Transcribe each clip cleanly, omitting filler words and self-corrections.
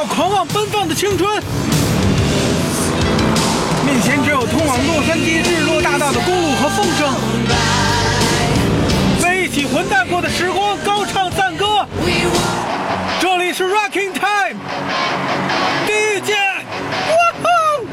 要狂妄奔放的青春。面前只有通往洛杉矶日落大道的公路和风声，在一起混蛋过的时光高唱赞歌。这里是 Rocking Time 第一届，哇吼！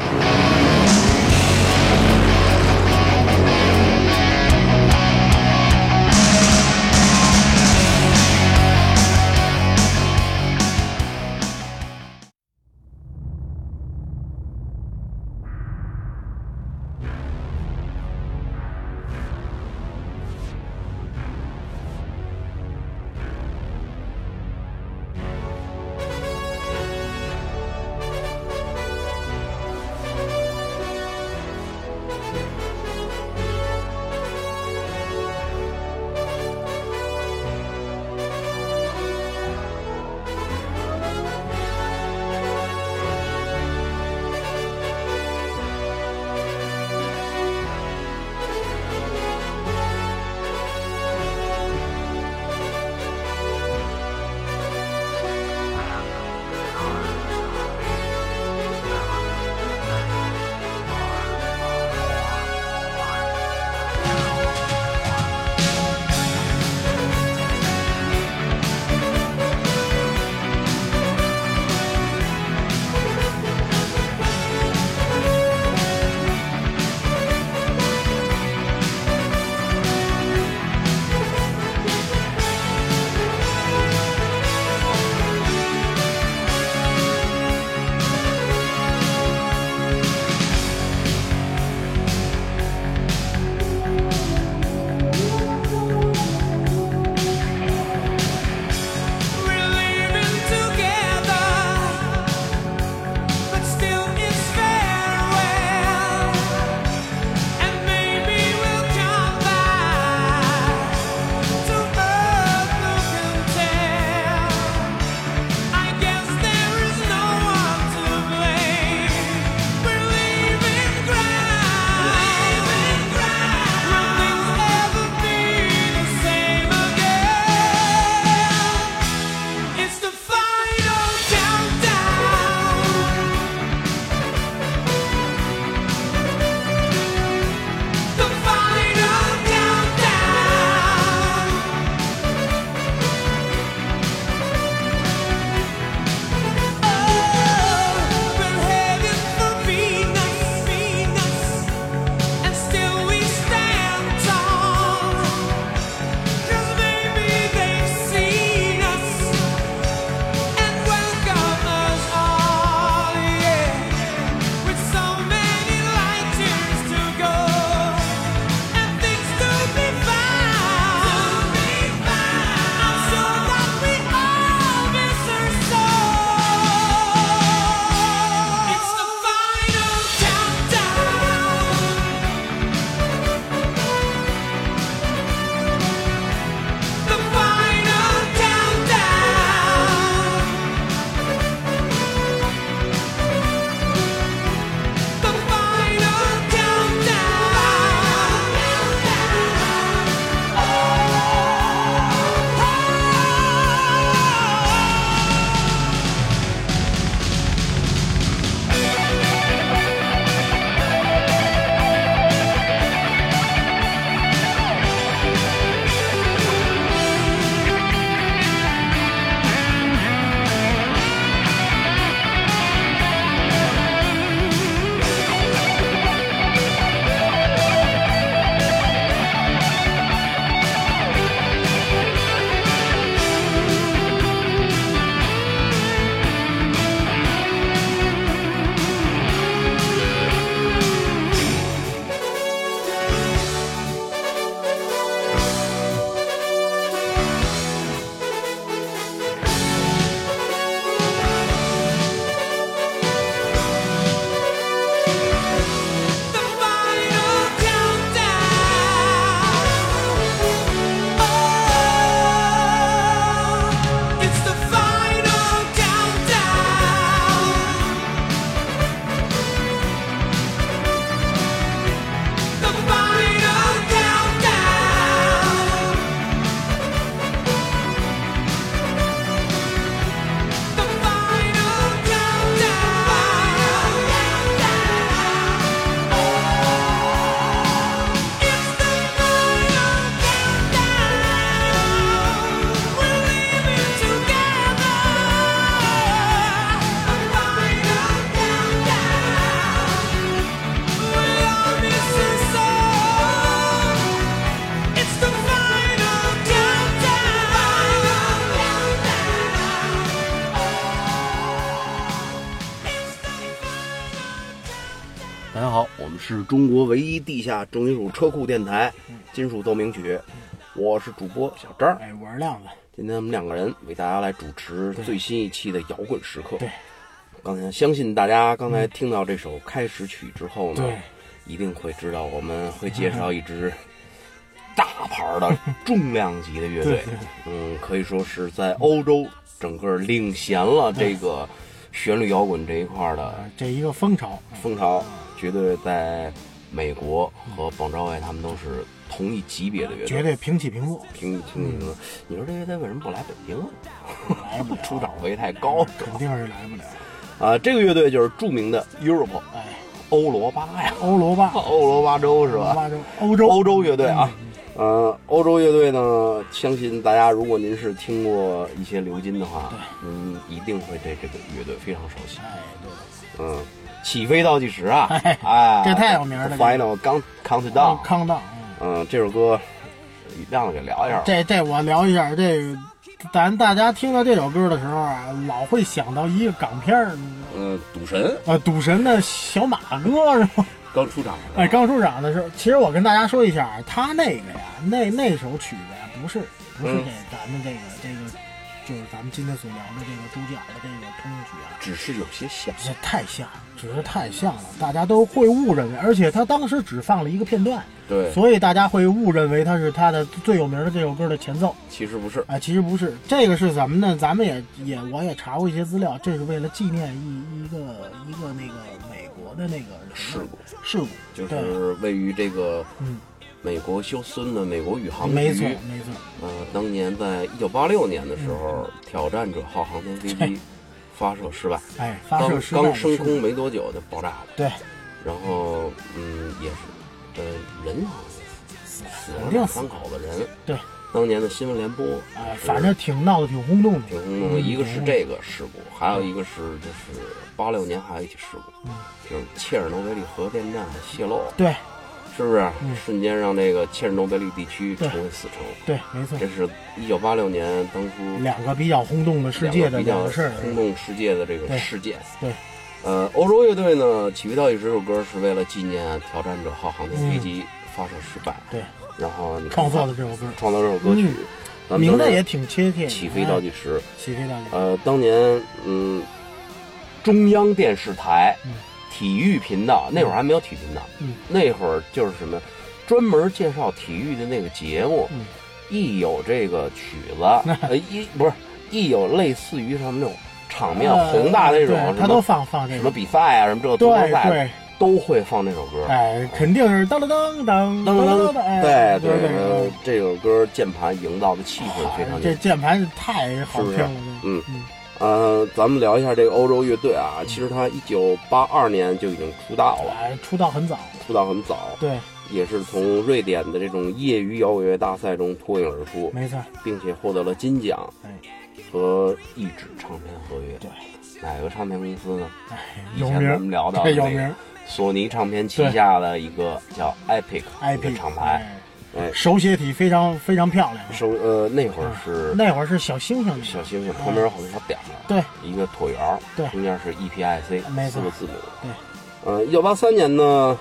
们是中国唯一地下重金属车库电台，金属奏鸣曲。我是主播小张， 我是亮子。 今天我们2个人为大家来主持最新一期的摇滚时刻。 对， 刚才相信大家刚才听到这首开始曲之后呢，一定会知道我们会介绍一支大牌的重量级的乐队。可以说是在欧洲整个领衔了这个旋律摇滚这一块的这一个风潮， 绝对在美国和邦昭威他们都是同一级别的乐队， 绝对平起平坐。 平起平坐。你说这乐队为什么不来北京啊？来不了，出场费太高， 肯定是来不了。 这个乐队就是著名的 Europe， 欧罗巴呀， 欧罗巴州是吧？欧洲乐队啊。欧洲乐队呢，相信大家如果您是听过一些流金的话，一定会对这个乐队非常熟悉。起飞倒计时啊！ 这太有名了。 Final Countdown。这首歌，亮子给聊一下。 这我聊一下。这个，大家听到这首歌的时候啊，老会想到一个港片赌神。 赌神的小马哥是吗？ 刚出场。 刚出场的时候，其实我跟大家说一下，他那个呀，那首曲子呀，不是给咱们这个。就是咱们今天所聊的这个主角的这个通用曲啊， 只是有些像， 只是太像了，大家都会误认为，而且他当时只放了一个片段， 对， 所以大家会误认为他是他的最有名的这首歌的前奏， 其实不是， 其实不是，这个是什么呢？咱们我也查过一些资料，这是为了纪念一个那个美国的那个事故， 就是位于这个美国休斯顿的美国宇航局， 没错。 当年在1986年的时候，挑战者号航天飞机发射失败，刚升空没多久就爆炸了。对，然后也是人死了2-3口子人。对，当年的新闻联播， 反正闹得挺轰动的。 一个是这个事故，还有一个是就是86年还有一起事故，就是切尔诺贝利核电站泄漏。 对。 是不是瞬间让这个切尔诺贝利地区成为死城？ 对，没错。 这是1986年当初 2个比较轰动的世界的事儿， 轰动世界的这个事件。 对， 欧洲乐队呢，起飞倒计时这首歌是为了纪念挑战者号航天飞机发射失败。 对， 然后你创作的这首歌曲， 名字也挺贴切。 起飞倒计时， 当年中央电视台。体育频道那会儿还没有体育频道，那会儿就是什么专门介绍体育的那个节目，一有这个曲子，一有类似于什么那种场面宏大的那种， 他都放这什么比赛啊，什么这个足球赛都会放那首歌。 肯定是当当当当当当。 对，这首歌键盘营造的气氛非常。 这键盘太好听了， 咱们聊一下这个欧洲乐队啊。其实他1982年就已经出道了， 出道很早。对， 也是从瑞典的这种业余摇滚乐大赛中脱颖而出， 没错， 并且获得了金奖和一纸唱片合约。 对， 哪个唱片公司呢？ 有名， 以前我们聊到有名， 索尼唱片旗下的一个叫 Epic 厂牌。 手写体非常非常漂亮。 那会儿是小星星， 旁边有好多小点儿， 对， 一个椭圆，对，中间是 EPIC 4个字母， 对。 1983年呢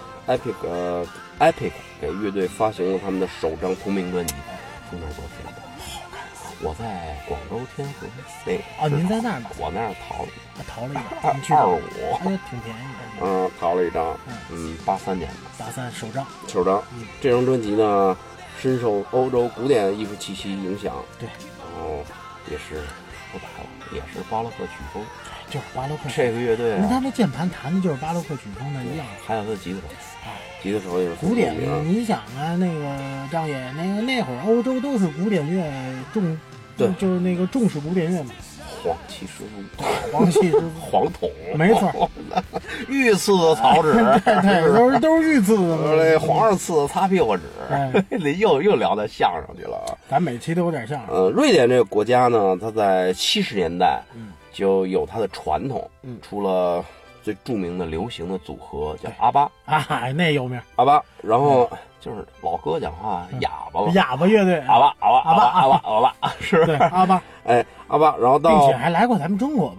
，Epic 给乐队发行了他们的首张同名专辑，封面多非常好看。我在广州天河您在那儿呢？ 我那儿淘了一张 25， 挺便宜的。 淘了一张，83年的83首张。这张专辑呢，深受欧洲古典艺术气息影响。 对， 然后也是说白了，也是巴洛克曲风。 就是巴洛克。 这个乐队他那键盘弹的就是巴洛克曲风的一样。 还有他的吉他手也是古典。你想啊，那个张爷，那会儿欧洲都是古典乐就是那个重视古典乐嘛。 黄旗师傅，黄桶， 没错， 御赐的草纸， 对，都是御赐的， 皇上赐的擦屁股纸，又聊到相声去了啊！ 咱每期都有点相声。 瑞典这个国家呢，它在70年代就有它的传统，出了最著名的流行的组合叫阿巴那有名阿巴，然后就是老哥讲话哑巴乐队， 阿巴是对阿巴， 阿巴，然后并且还来过咱们中国吧，我记得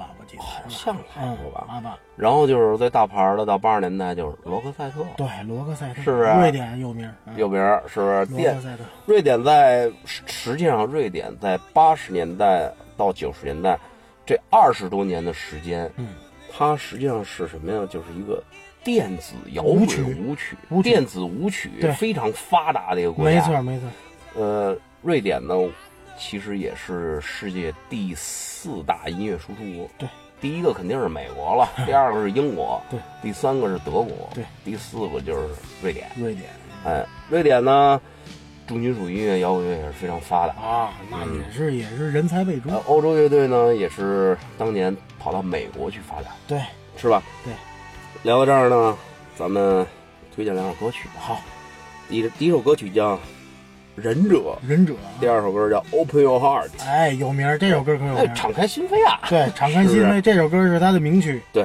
好像来过吧。 88。 然后就是最大牌的，到80年代就是罗克赛特。 对，罗克赛特是不是？ 瑞典有名， 有名是不是？ 罗克赛特。 瑞典实际上，瑞典在80年代到90年代这20多年的时间，它实际上是什么呀？就是一个电子摇滚舞曲，电子舞曲非常发达的一个国家。 没错。 瑞典呢，其实也是世界第4大音乐输出国。 对， 第一个肯定是美国了，第二个是英国， 对， 第3个是德国， 对， 第4个就是瑞典。瑞典呢，重金属音乐、摇滚乐也是非常发达啊，那也是人才辈出。 欧洲乐队呢，也是当年跑到美国去发展， 对， 是吧？ 对。 聊到这儿呢，咱们推荐2首歌曲。 好， 第一首歌曲叫《忍者》，第2首歌叫《Open Your Heart》。 哎，有名，这首歌可有名。 敞开心扉啊！ 对，敞开心扉，这首歌是他的名曲。 对。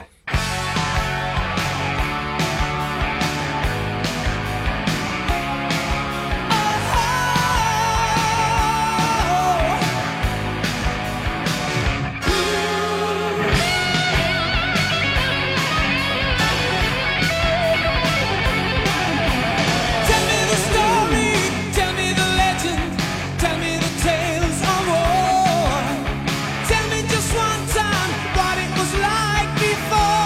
Tell me just one time what it was like before.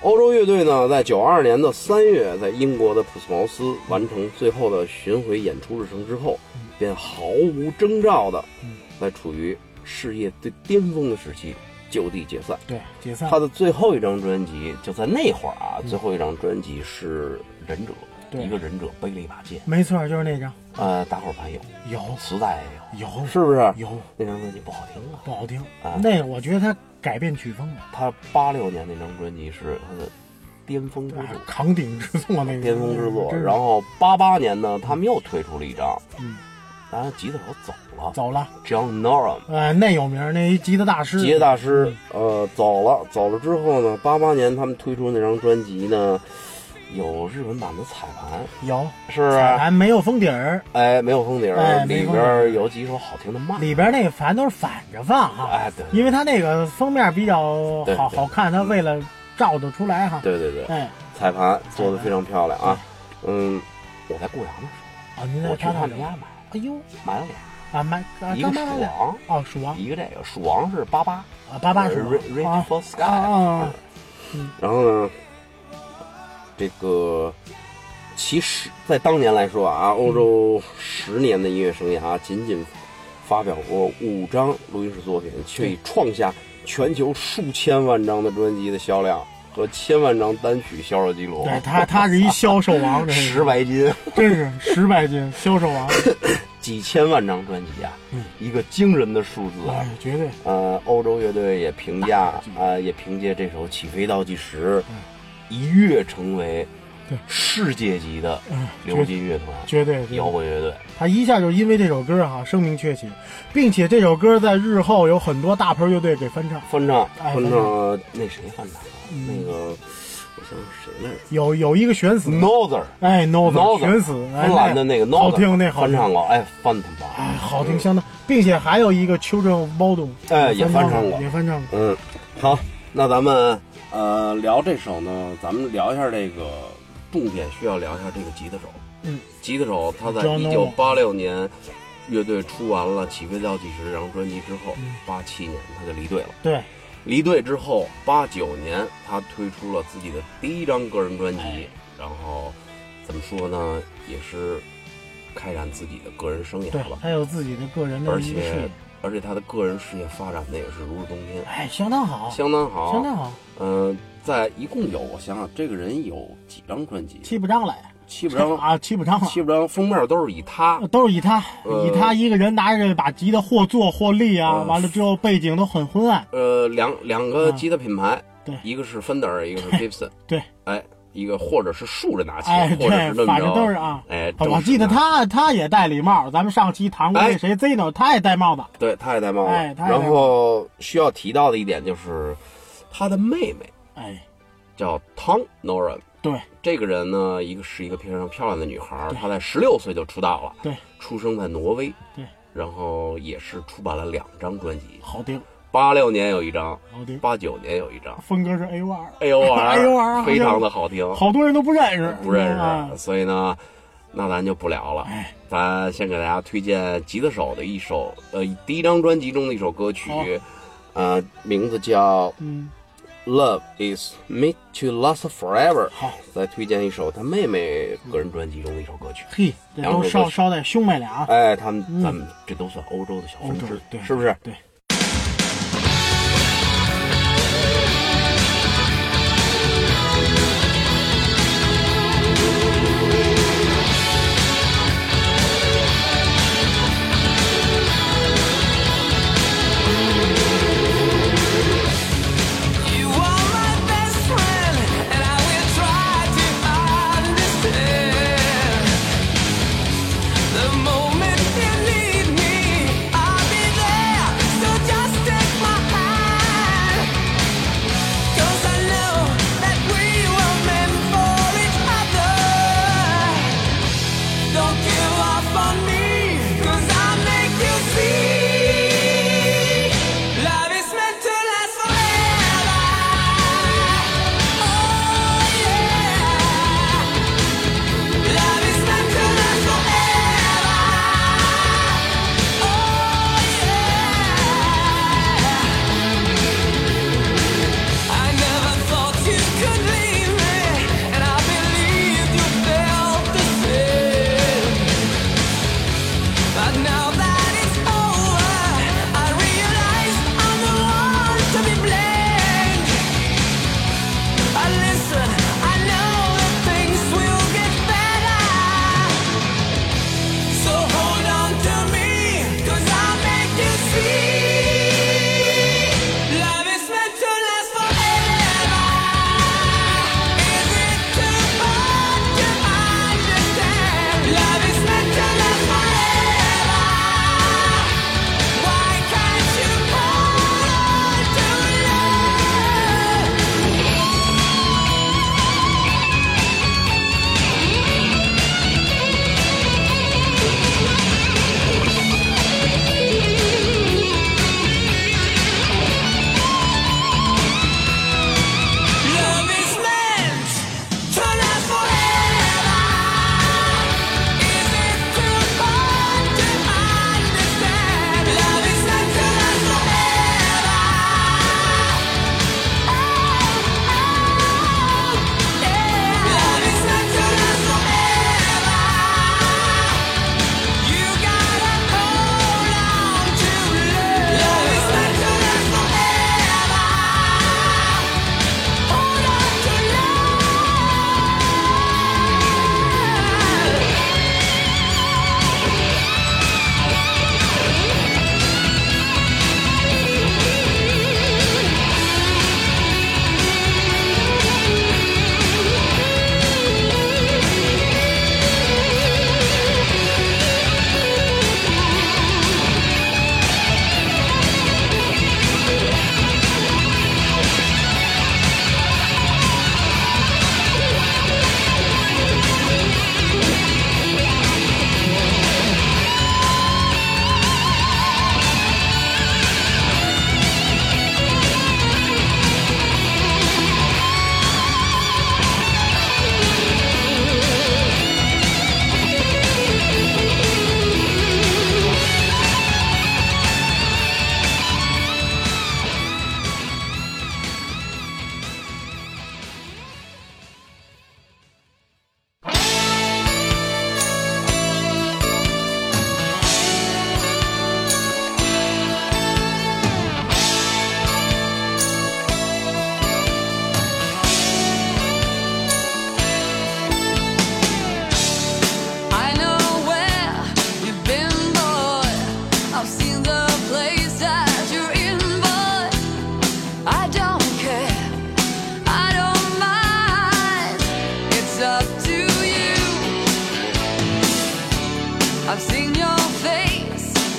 欧洲乐队呢，在92年的3月，在英国的普斯茅斯完成最后的巡回演出日程之后，便毫无征兆的，在处于事业最巅峰的时期就地解散。 对，解散。 他的最后一张专辑就在那会儿啊，最后一张专辑是《忍者》，一个忍者背了一把剑。 没错，就是那张。 大伙儿盘有， 磁带也有， 是不是？ 有。 那张专辑不好听啊， 不好听。那个我觉得他改变曲风了。 他86年那张专辑是他的巅峰之作， 扛鼎之作那个巅峰之作。然后88年呢，他们又推出了一张，当然吉他手走了，John Norum， 那有名，那一吉他大师， 走了之后呢，88年他们推出那张专辑呢，有日文版的彩盘， 有， 是不是？ 彩盘没有封底儿， 没有封底儿，里边有几首好听的慢， 里边那个反正都是反着放哈， 对， 因为他那个封面比较好看，他为了照得出来哈， 对，彩盘做的非常漂亮啊，我在固阳的时候， 您在他们家买。 哎呦， 买了俩一个鼠王鼠王， 一个这个鼠王是 88 是 Reach for Sky 然后呢，这个其实在当年来说啊，欧洲10年的音乐生涯仅仅发表过5张录音室作品，却已创下全球数千万张的专辑的销量和1000万张单曲销售记录。 对，他是一销售王， 十百斤， 真是10百斤销售王， 几千万张专辑啊，一个惊人的数字啊， 绝对。 欧洲乐队也评价也凭借这首《起飞倒计时》一跃成为世界级的流金乐团， 绝对摇滚乐队。 他一下就因为这首歌声名鹊起，并且这首歌在日后有很多大牌乐队给翻唱。那谁翻唱？那个我想谁来着？有一个悬死 Northern， Northern 悬死， 芬兰的那个 Northern 好听，那翻唱过，翻唱过， 好听相当，并且还有一个 Children of Bodom， 也翻唱过，好，那咱们聊这首呢，咱们聊一下这个重点，需要聊一下这个吉他手。吉他手他在1986年乐队出完了《起飞倒计时》这张专辑之后，87年他就离队了。 对。 离队之后，89年他推出了自己的第一张个人专辑，然后怎么说呢，也是开展自己的个人生涯了。 他有自己的个人的一个事业， 而且他的个人事业发展的也是如日中天， 相当好。 在一共有，我想想，这个人有几张专辑 ？7、8张来。 7、8张封面都是以他一个人拿着把吉他或坐或立完了之后背景都很昏暗。 两个吉他品牌， 对， 一个是 Fender， 一个是 Gibson， 对， 一个或者是竖着拿起，或者是反正都是我记得他也戴礼帽，咱们上期谈过那谁 Zeno， 他也戴帽子， 对，他也戴帽子。然后需要提到的一点就是他的妹妹，叫 Tom Norum。 对， 这个人呢，是一个非常漂亮的女孩，她在16岁就出道了， 对， 出生在挪威， 对， 然后也是出版了2张专辑， 好听。 86年有一张， 好听。 89年有一张， 风格是 AOR， 非常的好听， 好多人都不认识， 所以呢，那咱就不聊了，咱先给大家推荐吉他手的一首，第一张专辑中的一首歌曲，名字叫Love is made to last forever。 好， 再推荐一首他妹妹个人专辑中的一首歌曲。 嘿，这都捎带兄妹俩。 咱们这都算欧洲的小分支，是不是？ 对。 The moment you need me, I'll be there. So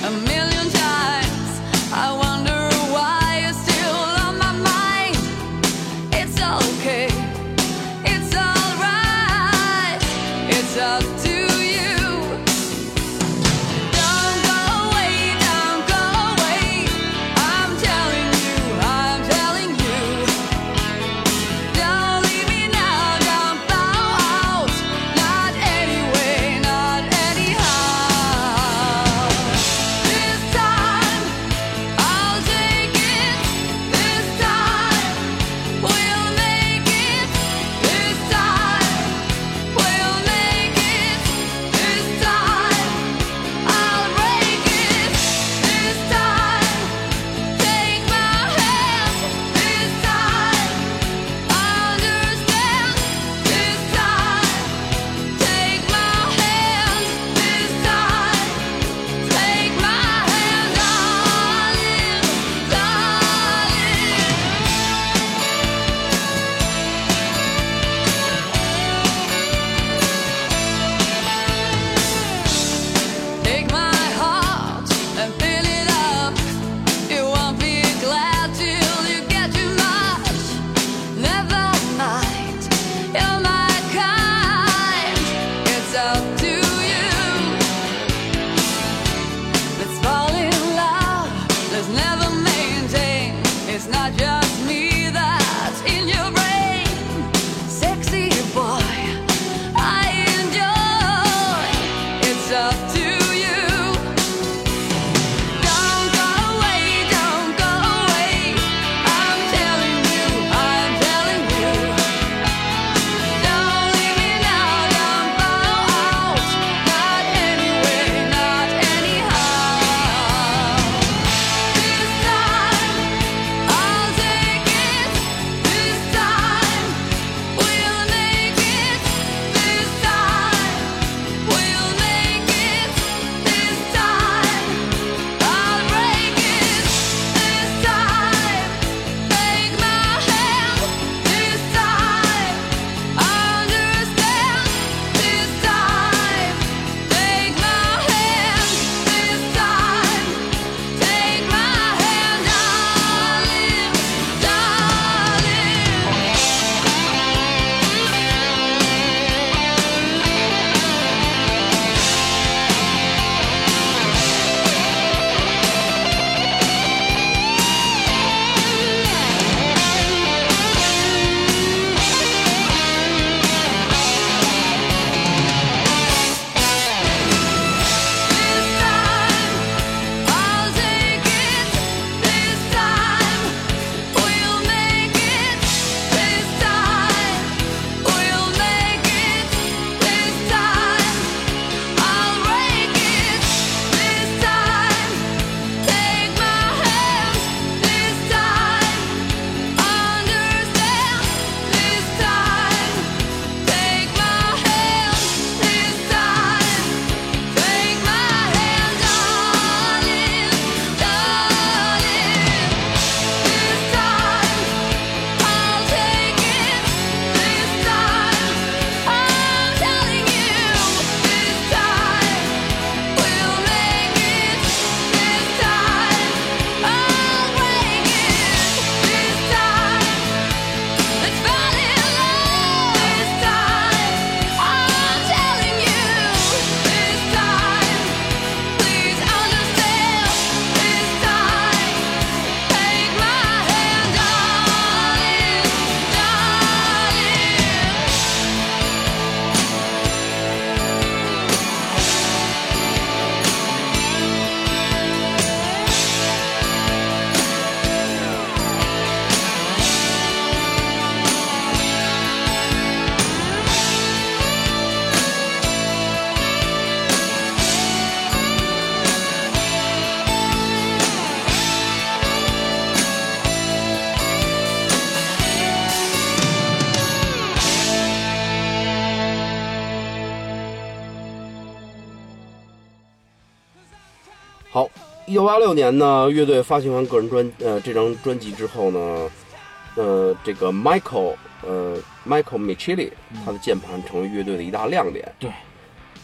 好，1986年呢，乐队发行完个人这张专辑之后呢，这个 Michael Michelli 他的键盘成为乐队的一大亮点。 对，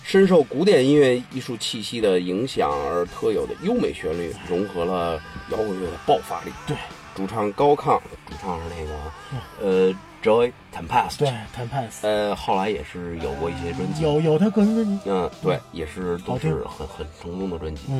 深受古典音乐艺术气息的影响而特有的优美旋律，融合了摇滚乐的爆发力。 对， 主唱高亢，主唱是那个Joey Tempest， 对 Tempest， 后来也是有过一些专辑， 有他个人专辑， 对，也是都是很成功的专辑。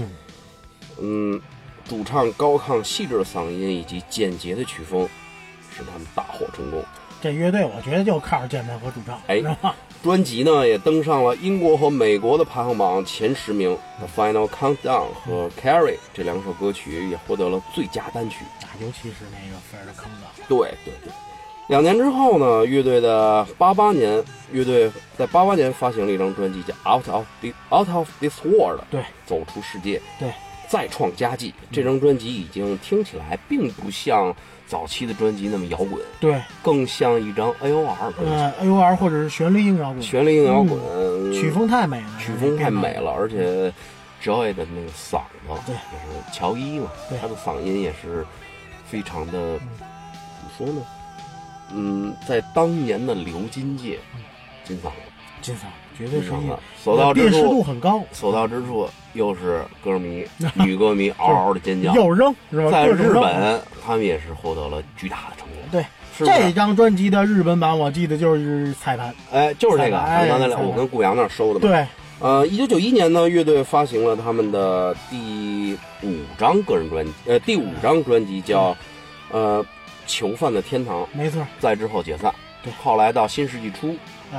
主唱高亢细致的嗓音以及简洁的曲风，使他们大获成功。 这乐队我觉得就靠着键盘和主唱。 专辑呢也登上了英国和美国的排行榜前10名。The Final Countdown 和 Carrie 这2首歌曲也获得了最佳单曲， 尤其是那个菲尔的坑的。 对。2年之后呢，乐队在88年发行了一张专辑叫 Out of This World， 对， 走出世界， 对， 再创佳绩。这张专辑已经听起来并不像早期的专辑那么摇滚， 对， 更像一张 AOR 专辑 ，AOR 或者是旋律硬摇滚，曲风太美了， 而且 Joey 的那个嗓子， 对， 也是乔伊嘛，他的嗓音也是非常的，怎么说呢？在当年的流金界，金嗓绝对是所到之处， 辨识度很高。 所到之处又是歌迷、女歌迷嗷嗷的尖叫， 又扔是吧？ 在日本，他们也是获得了巨大的成功。 对，这张专辑的日本版我记得就是彩盘， 就是这个，我跟顾阳那收的嘛。 对。 1991年呢，乐队发行了他们的第5张个人专辑，第5张专辑叫囚犯的天堂， 没错。 在之后解散， 对， 后来到新世纪初，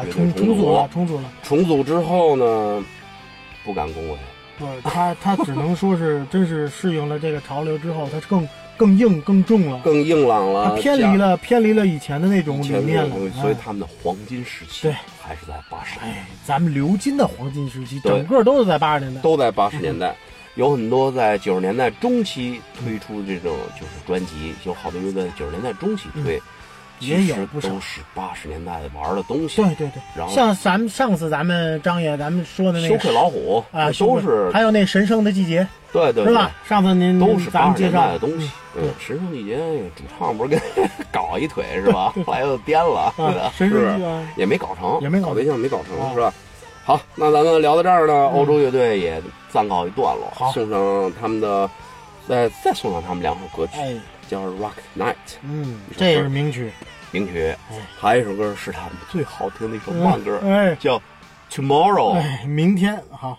重组了之后呢，不敢恭维。 不，他只能说是真是适应了这个潮流之后，他更硬、更重了， 更硬朗了， 他偏离了以前的那种理念了。 所以他们的黄金时期， 对， 还是在80年代。 咱们流金的黄金时期，整个都是在80年代， 都在80年代。有很多在90年代中期推出这种就是专辑，有好多乐队在90年代中期推， 也有不少都是80年代玩的东西。 对。 然后像上次咱们张爷说的那个羞愧老虎啊， 都是， 还有那神圣的季节， 对， 是吧？上次您都是 80年代的东西。神圣季节主唱不是跟搞一腿是吧？后来又颠了， 神圣也没搞成， 搞对象没搞成，是吧？好，那咱们聊到这儿呢，欧洲乐队也暂告一段落。送上他们的，再送上他们2首歌曲，叫《Rock Night》。 这也是名曲。 还有一首歌是他们最好听的一首慢歌，叫《Tomorrow》。 明天。好。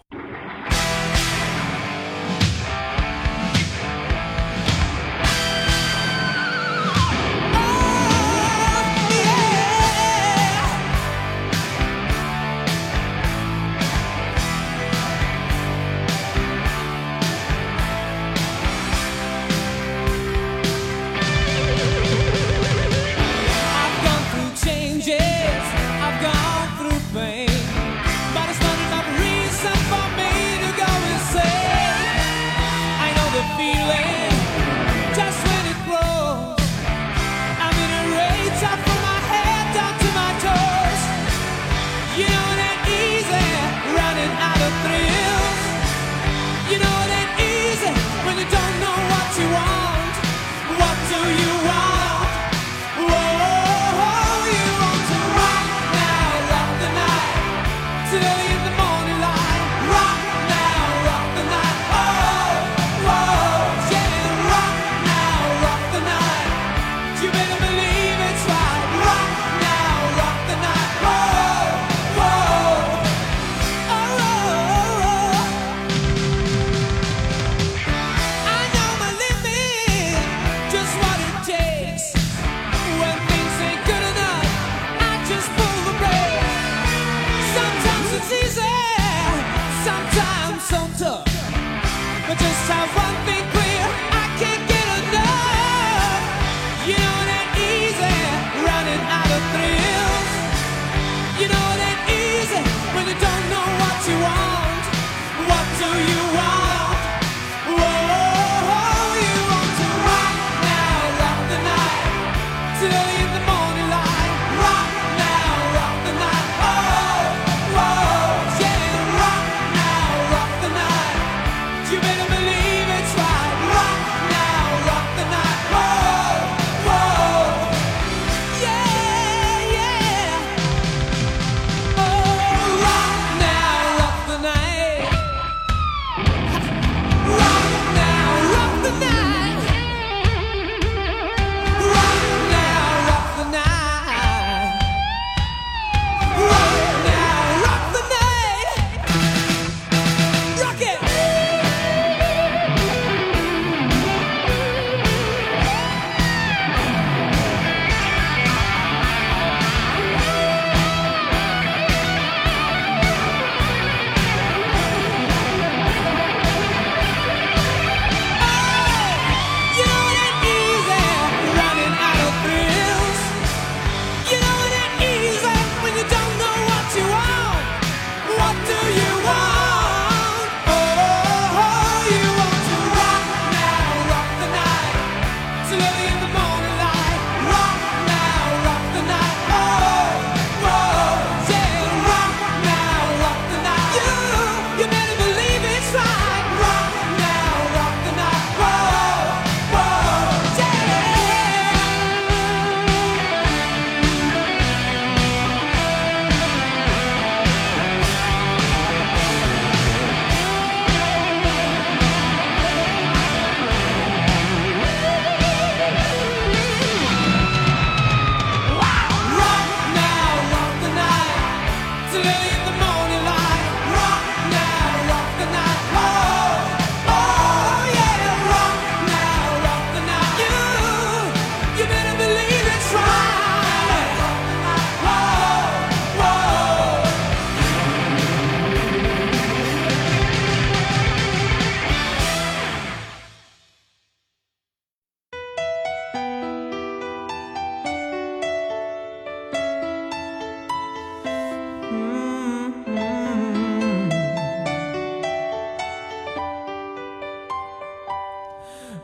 I've gone through pain, but it's not enough reason for me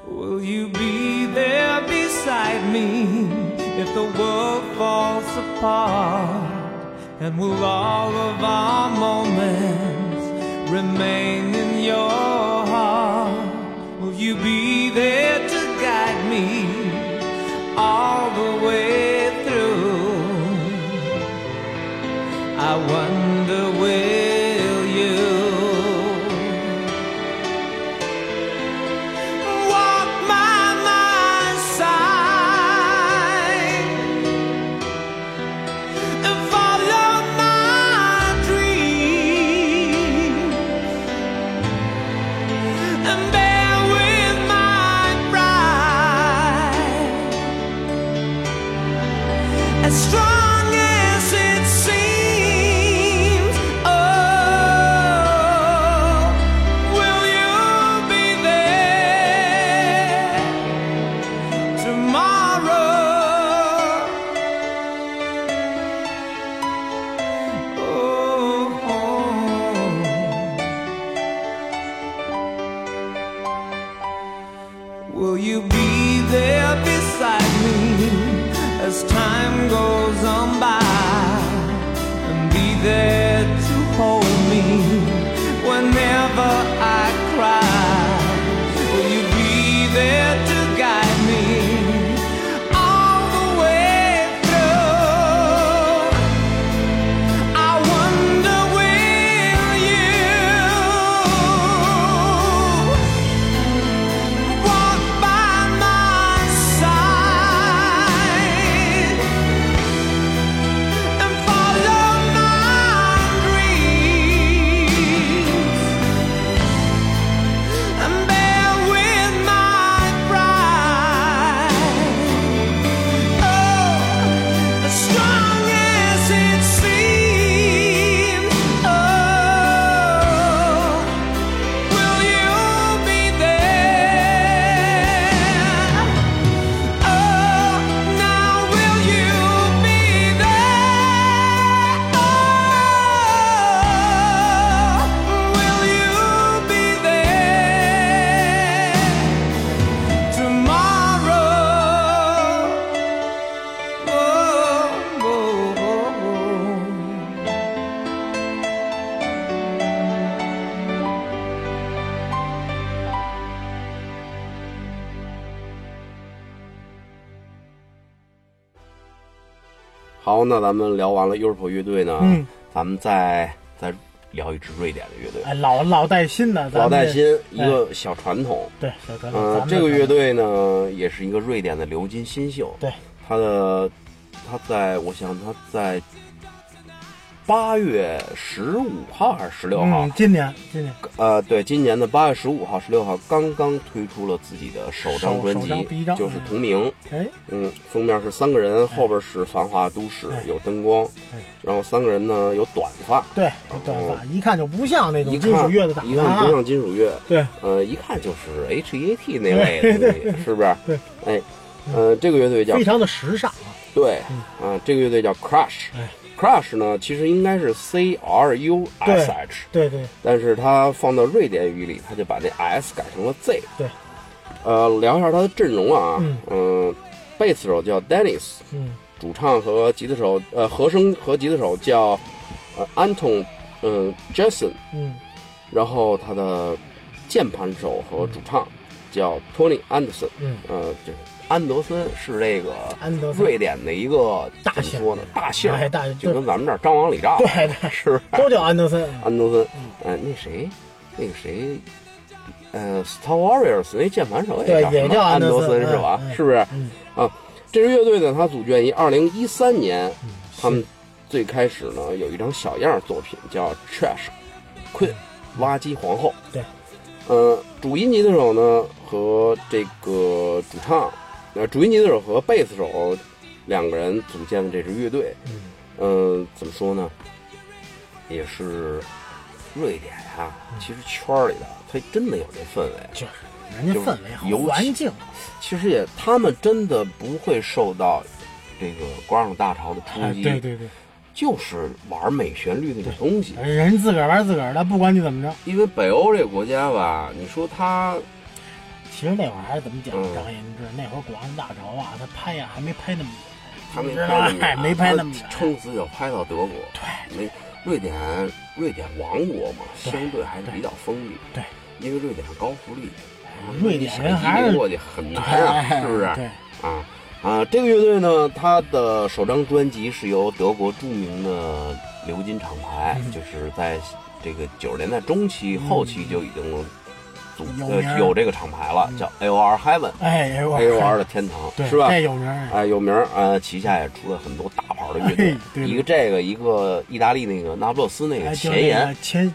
Will you be there beside me if the world falls apart? And will all of our moments remain in your heart? Will you be there to guide me all the way through? I wonder, will you walk by my side and follow my dreams and bear with my pride, as strong as it seems? Oh, will you be there tomorrow? Will you be there beside me as time goes on by, and be there to hold me whenever I cry? Will you be there to guide me all the way through? I wonder, will you walk by my side and follow my dreams and bear with my pride? Oh, as strong as it seems. Oh, will you be there? Oh, now will you be there? Oh, will you be there tomorrow? Oh, oh, oh, oh. 好，那咱们聊完了 Europe 乐队呢，咱们再聊一支瑞典的乐队。 哎，老带新的， 老带新，一个小传统。 对，小传统。 这个乐队呢，也是一个瑞典的流金新秀。 对， 他在8月15号还是16号？ 今年。 对，今年的8月15号、16号刚刚推出了自己的首张专辑，就是同名。封面是3个人，后边是繁华都市，有灯光，然后3个人呢有短发， 对，有短发，一看就不像那种金属乐的打扮， 一看不像金属乐， 对， 一看就是 HEAT 那类的东西，是不是？ 对， 哎，这个乐队叫非常的时尚啊， 对，这个乐队叫 Crush。Crush 呢，其实应该是 CRUSH， 对， 但是它放到瑞典语里，它就把那 S 改成了 Z。 对， 聊一下它的阵容啊，贝斯手叫 Dennis，主唱和吉他手，和声和吉他手叫Anton Jason，然后他的键盘手和主唱叫 Tony Anderson，就是安德森是这个瑞典的一个大姓，说呢大姓， 就跟咱们这儿张王李赵， 对， 是都叫安德森。 那个谁，Star Warriors 那键盘手也叫安德森是吧？是不是？这支乐队呢，它组建于2013年，他们最开始呢有一张小样作品叫 Trash Queen 垃圾皇后。 对， 主音吉他手呢和这个主唱。主音吉他手和贝斯手2个人组建的这支乐队，怎么说呢？也是瑞典呀，其实圈里的他真的有这氛围， 就是人家氛围好，环境， 其实他们真的不会受到这个广场大潮的冲击， 对， 就是玩美旋律那种东西， 人自个儿玩自个儿的，不管你怎么着。 因为北欧这个国家吧，你说他其实那会儿还是怎么讲，张岩志那会儿广案大潮啊，他拍呀还没拍那么， 他没拍那么， 撑死要拍到德国。 对， 瑞典王国嘛，相对还是比较封闭。 对， 因为瑞典是高福利， 瑞典人还是过去很难啊，是不是？ 对这个乐队呢，它的首张专辑是由德国著名的鎏金厂牌，就是在这个90年代中期、后期就已经有这个厂牌了，叫 AOR Heaven，AOR 的天堂，是吧？ 这有名， 有名旗下也出了很多大牌的乐队，一个这个，一个意大利那个那不勒斯那个前沿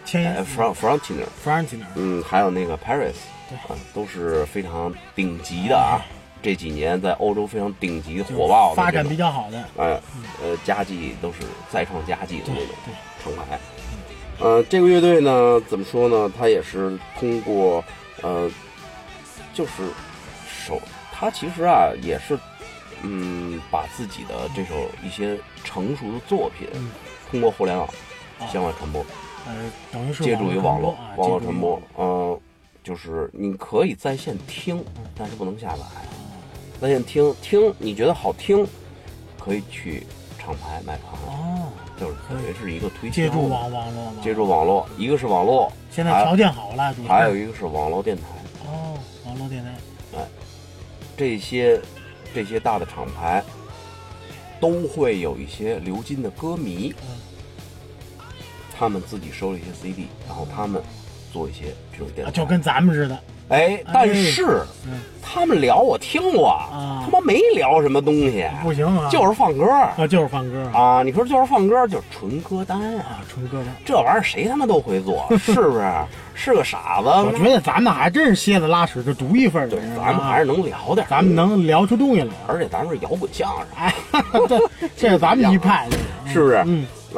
，Frontiner，还有那个 Paris， 都是非常顶级的啊。这几年在欧洲非常顶级火爆的， 发展比较好的， 佳绩都是再创佳绩的那种厂牌。这个乐队呢，怎么说呢？它也是通过，就是它其实啊，也是，把自己的这首一些成熟的作品，通过互联网向外传播， 等于是借助于网络传播，就是你可以在线听，但是不能下载。在线听，你觉得好听，可以去厂牌买盘。就是等于是一个推销，借助网络，一个是网络， 现在条件好了， 还有一个是网络电台。 网络电台， 这些大的厂牌都会有一些鎏金的歌迷，他们自己收了一些 CD， 然后他们做一些这种电台， 就跟咱们似的。 但是他们聊我听过，他妈没聊什么东西， 不行啊， 就是放歌就是放歌啊！你说就是放歌，就是纯歌单纯歌单， 这玩意儿谁他妈都会做，是不是？是个傻子。 我觉得咱们还真是蝎子拉屎就独一份， 对，咱们还是能聊点， 咱们能聊出东西来， 而且咱们是摇滚相声， 这是咱们一派， 是不是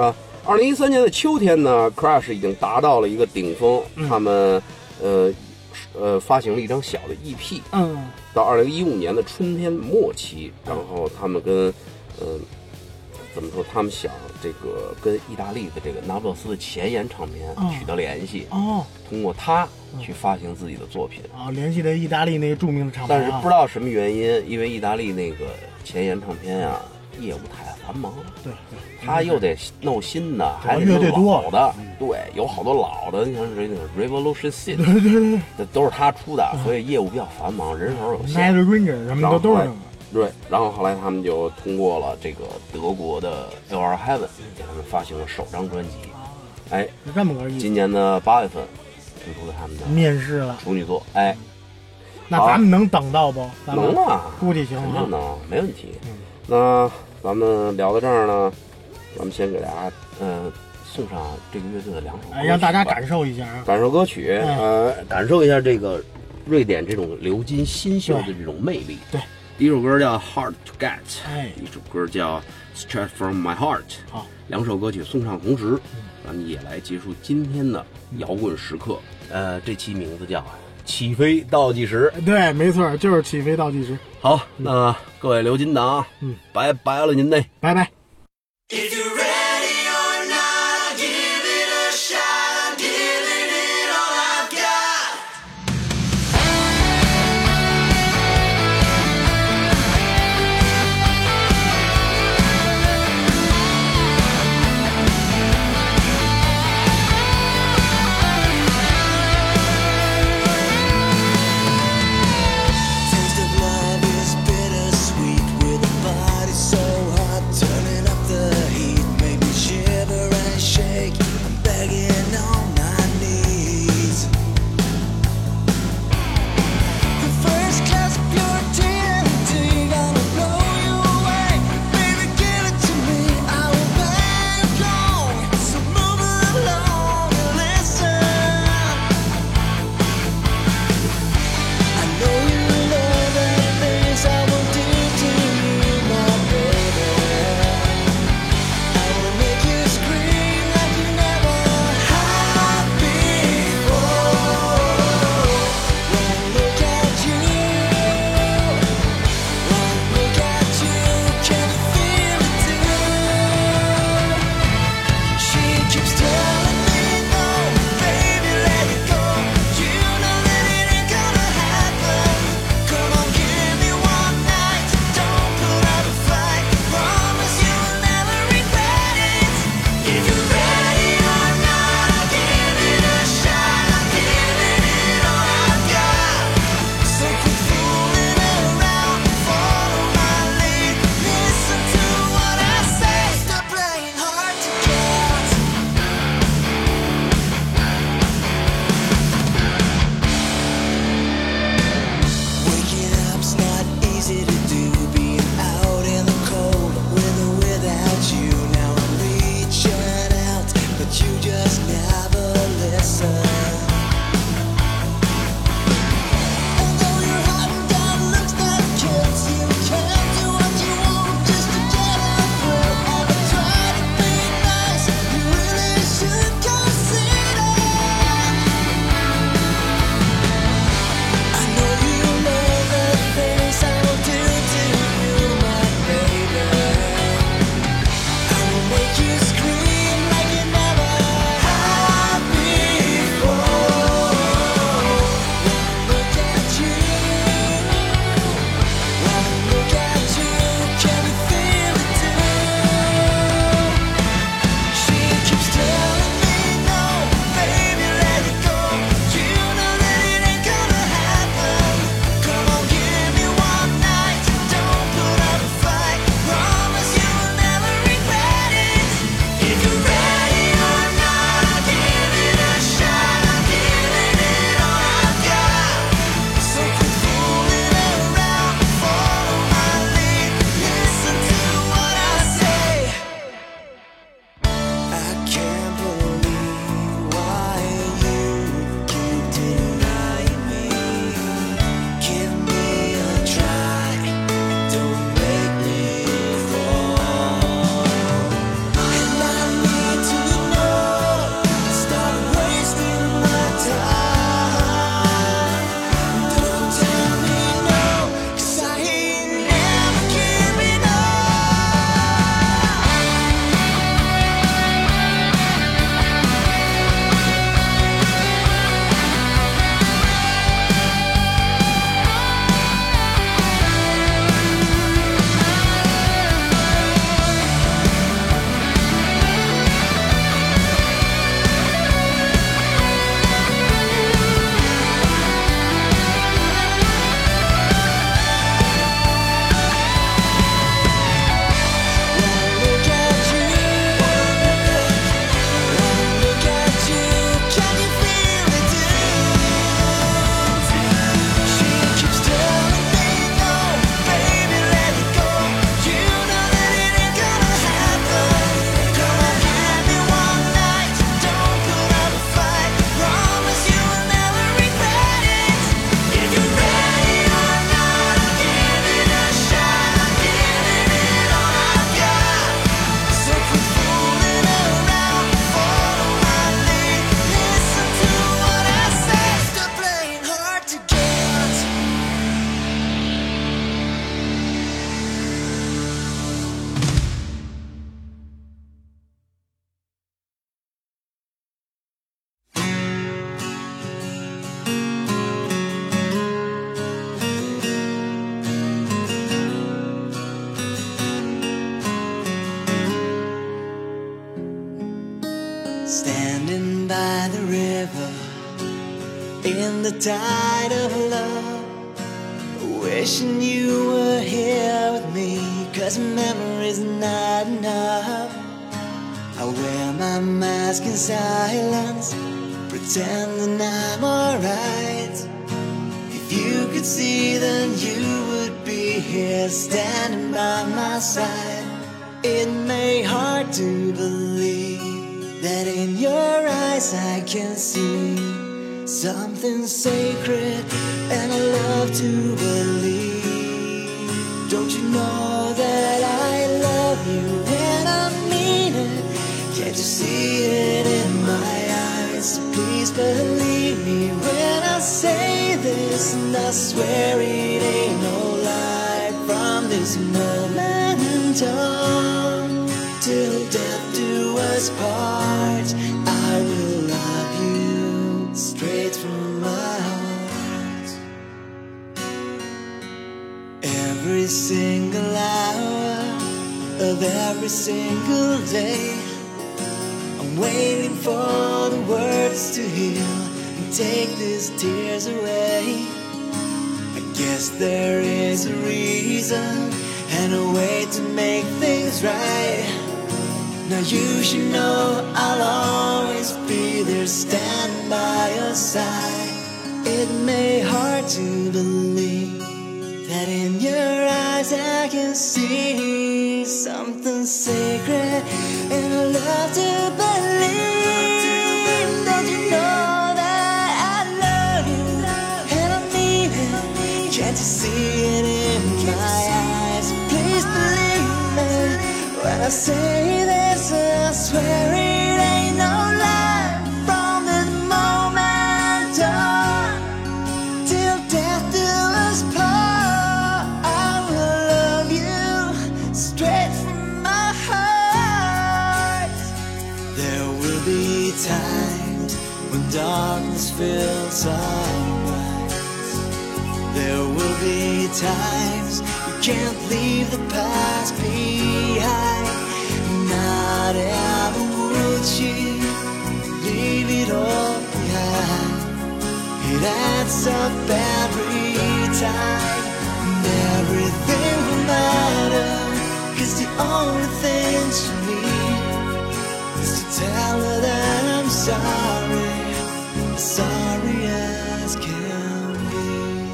？2013年的秋天呢 ，Crash 已经达到了一个顶峰，他们发行了一张小的 EP， 到2015年的春天末期，然后他们跟怎么说？他们想这个跟意大利的这个那不勒斯的前沿唱片取得联系，通过它去发行自己的作品联系的意大利那个著名的厂牌， 但是不知道什么原因，因为意大利那个前沿唱片呀，业务太繁忙， 对， 他又得弄新的，还得弄老的，对，有好多老的，你像这个 Revolution Sin， 对，这都是他出的，所以业务比较繁忙，人手有限。 Night Ranger 什么的都是。 对，然后后来他们就通过了这个德国的 AOR Heaven， 给他们发行了首张专辑。 这么个意思。 今年的8月份推出了他们的面试了处女作。 那咱们能等到不？ 能啊， 估计行， 肯定能，没问题。那咱们聊到这儿呢，咱们先给大家送上这个乐队的2首歌曲， 让大家感受一下感受歌曲，感受一下这个瑞典这种鎏金新秀的这种魅力。 对， 第一首歌叫 Hard to Get， 一首歌叫 Straight from My Heart。 好 ，2首歌曲送上同时，咱们也来结束今天的摇滚时刻。这期名字叫起飞倒计时。 对，没错，就是起飞倒计时。 好，那各位鎏金党，拜拜了您嘞， 拜拜。 Taste of love is bittersweet with a body so hot, turning the tide of love, wishing you were here with me, 'cause memory's not enough. I wear my mask in silence, pretending I'm alright. If you could see, then you would be here standing by my side. It may hard to believe that in your eyes I can see something sacred, and I love to believe. Don't you know that I love you and I mean it? Can't you see it in my eyes? Please believe me when I say this, and I swear it ain't no lie. From this moment on, till death do us part, I will love you straight from my heart. Every single hour of every single day, I'm waiting for the words to heal and take these tears away. I guess there is a reason and a way to make things right. Now you should know I'll always be there standing by your side. It may hard to believe that in your eyes I can see something sacred, and I love to believe. Don't you know that I love you and I mean it? Can't you see it in my eyes? Please believe me when I say this, I swear it ain't no lie. From this moment on, till death do us part, I will love you straight from my heart. There will be times when darkness fills our minds. There will be times you can't leave the past behind. Not ever would she leave it all behind. It adds up every time, and everything will matter, 'cause the only thing she needs is to tell her that I'm sorry, sorry as can be.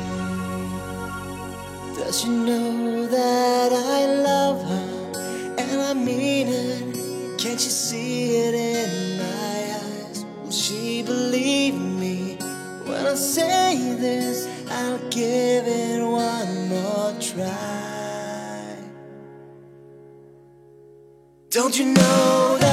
Does she know that I love her and I mean it? Can't you see it in my eyes? Will she believe me when I say this? I'll give it one more try. Don't you know that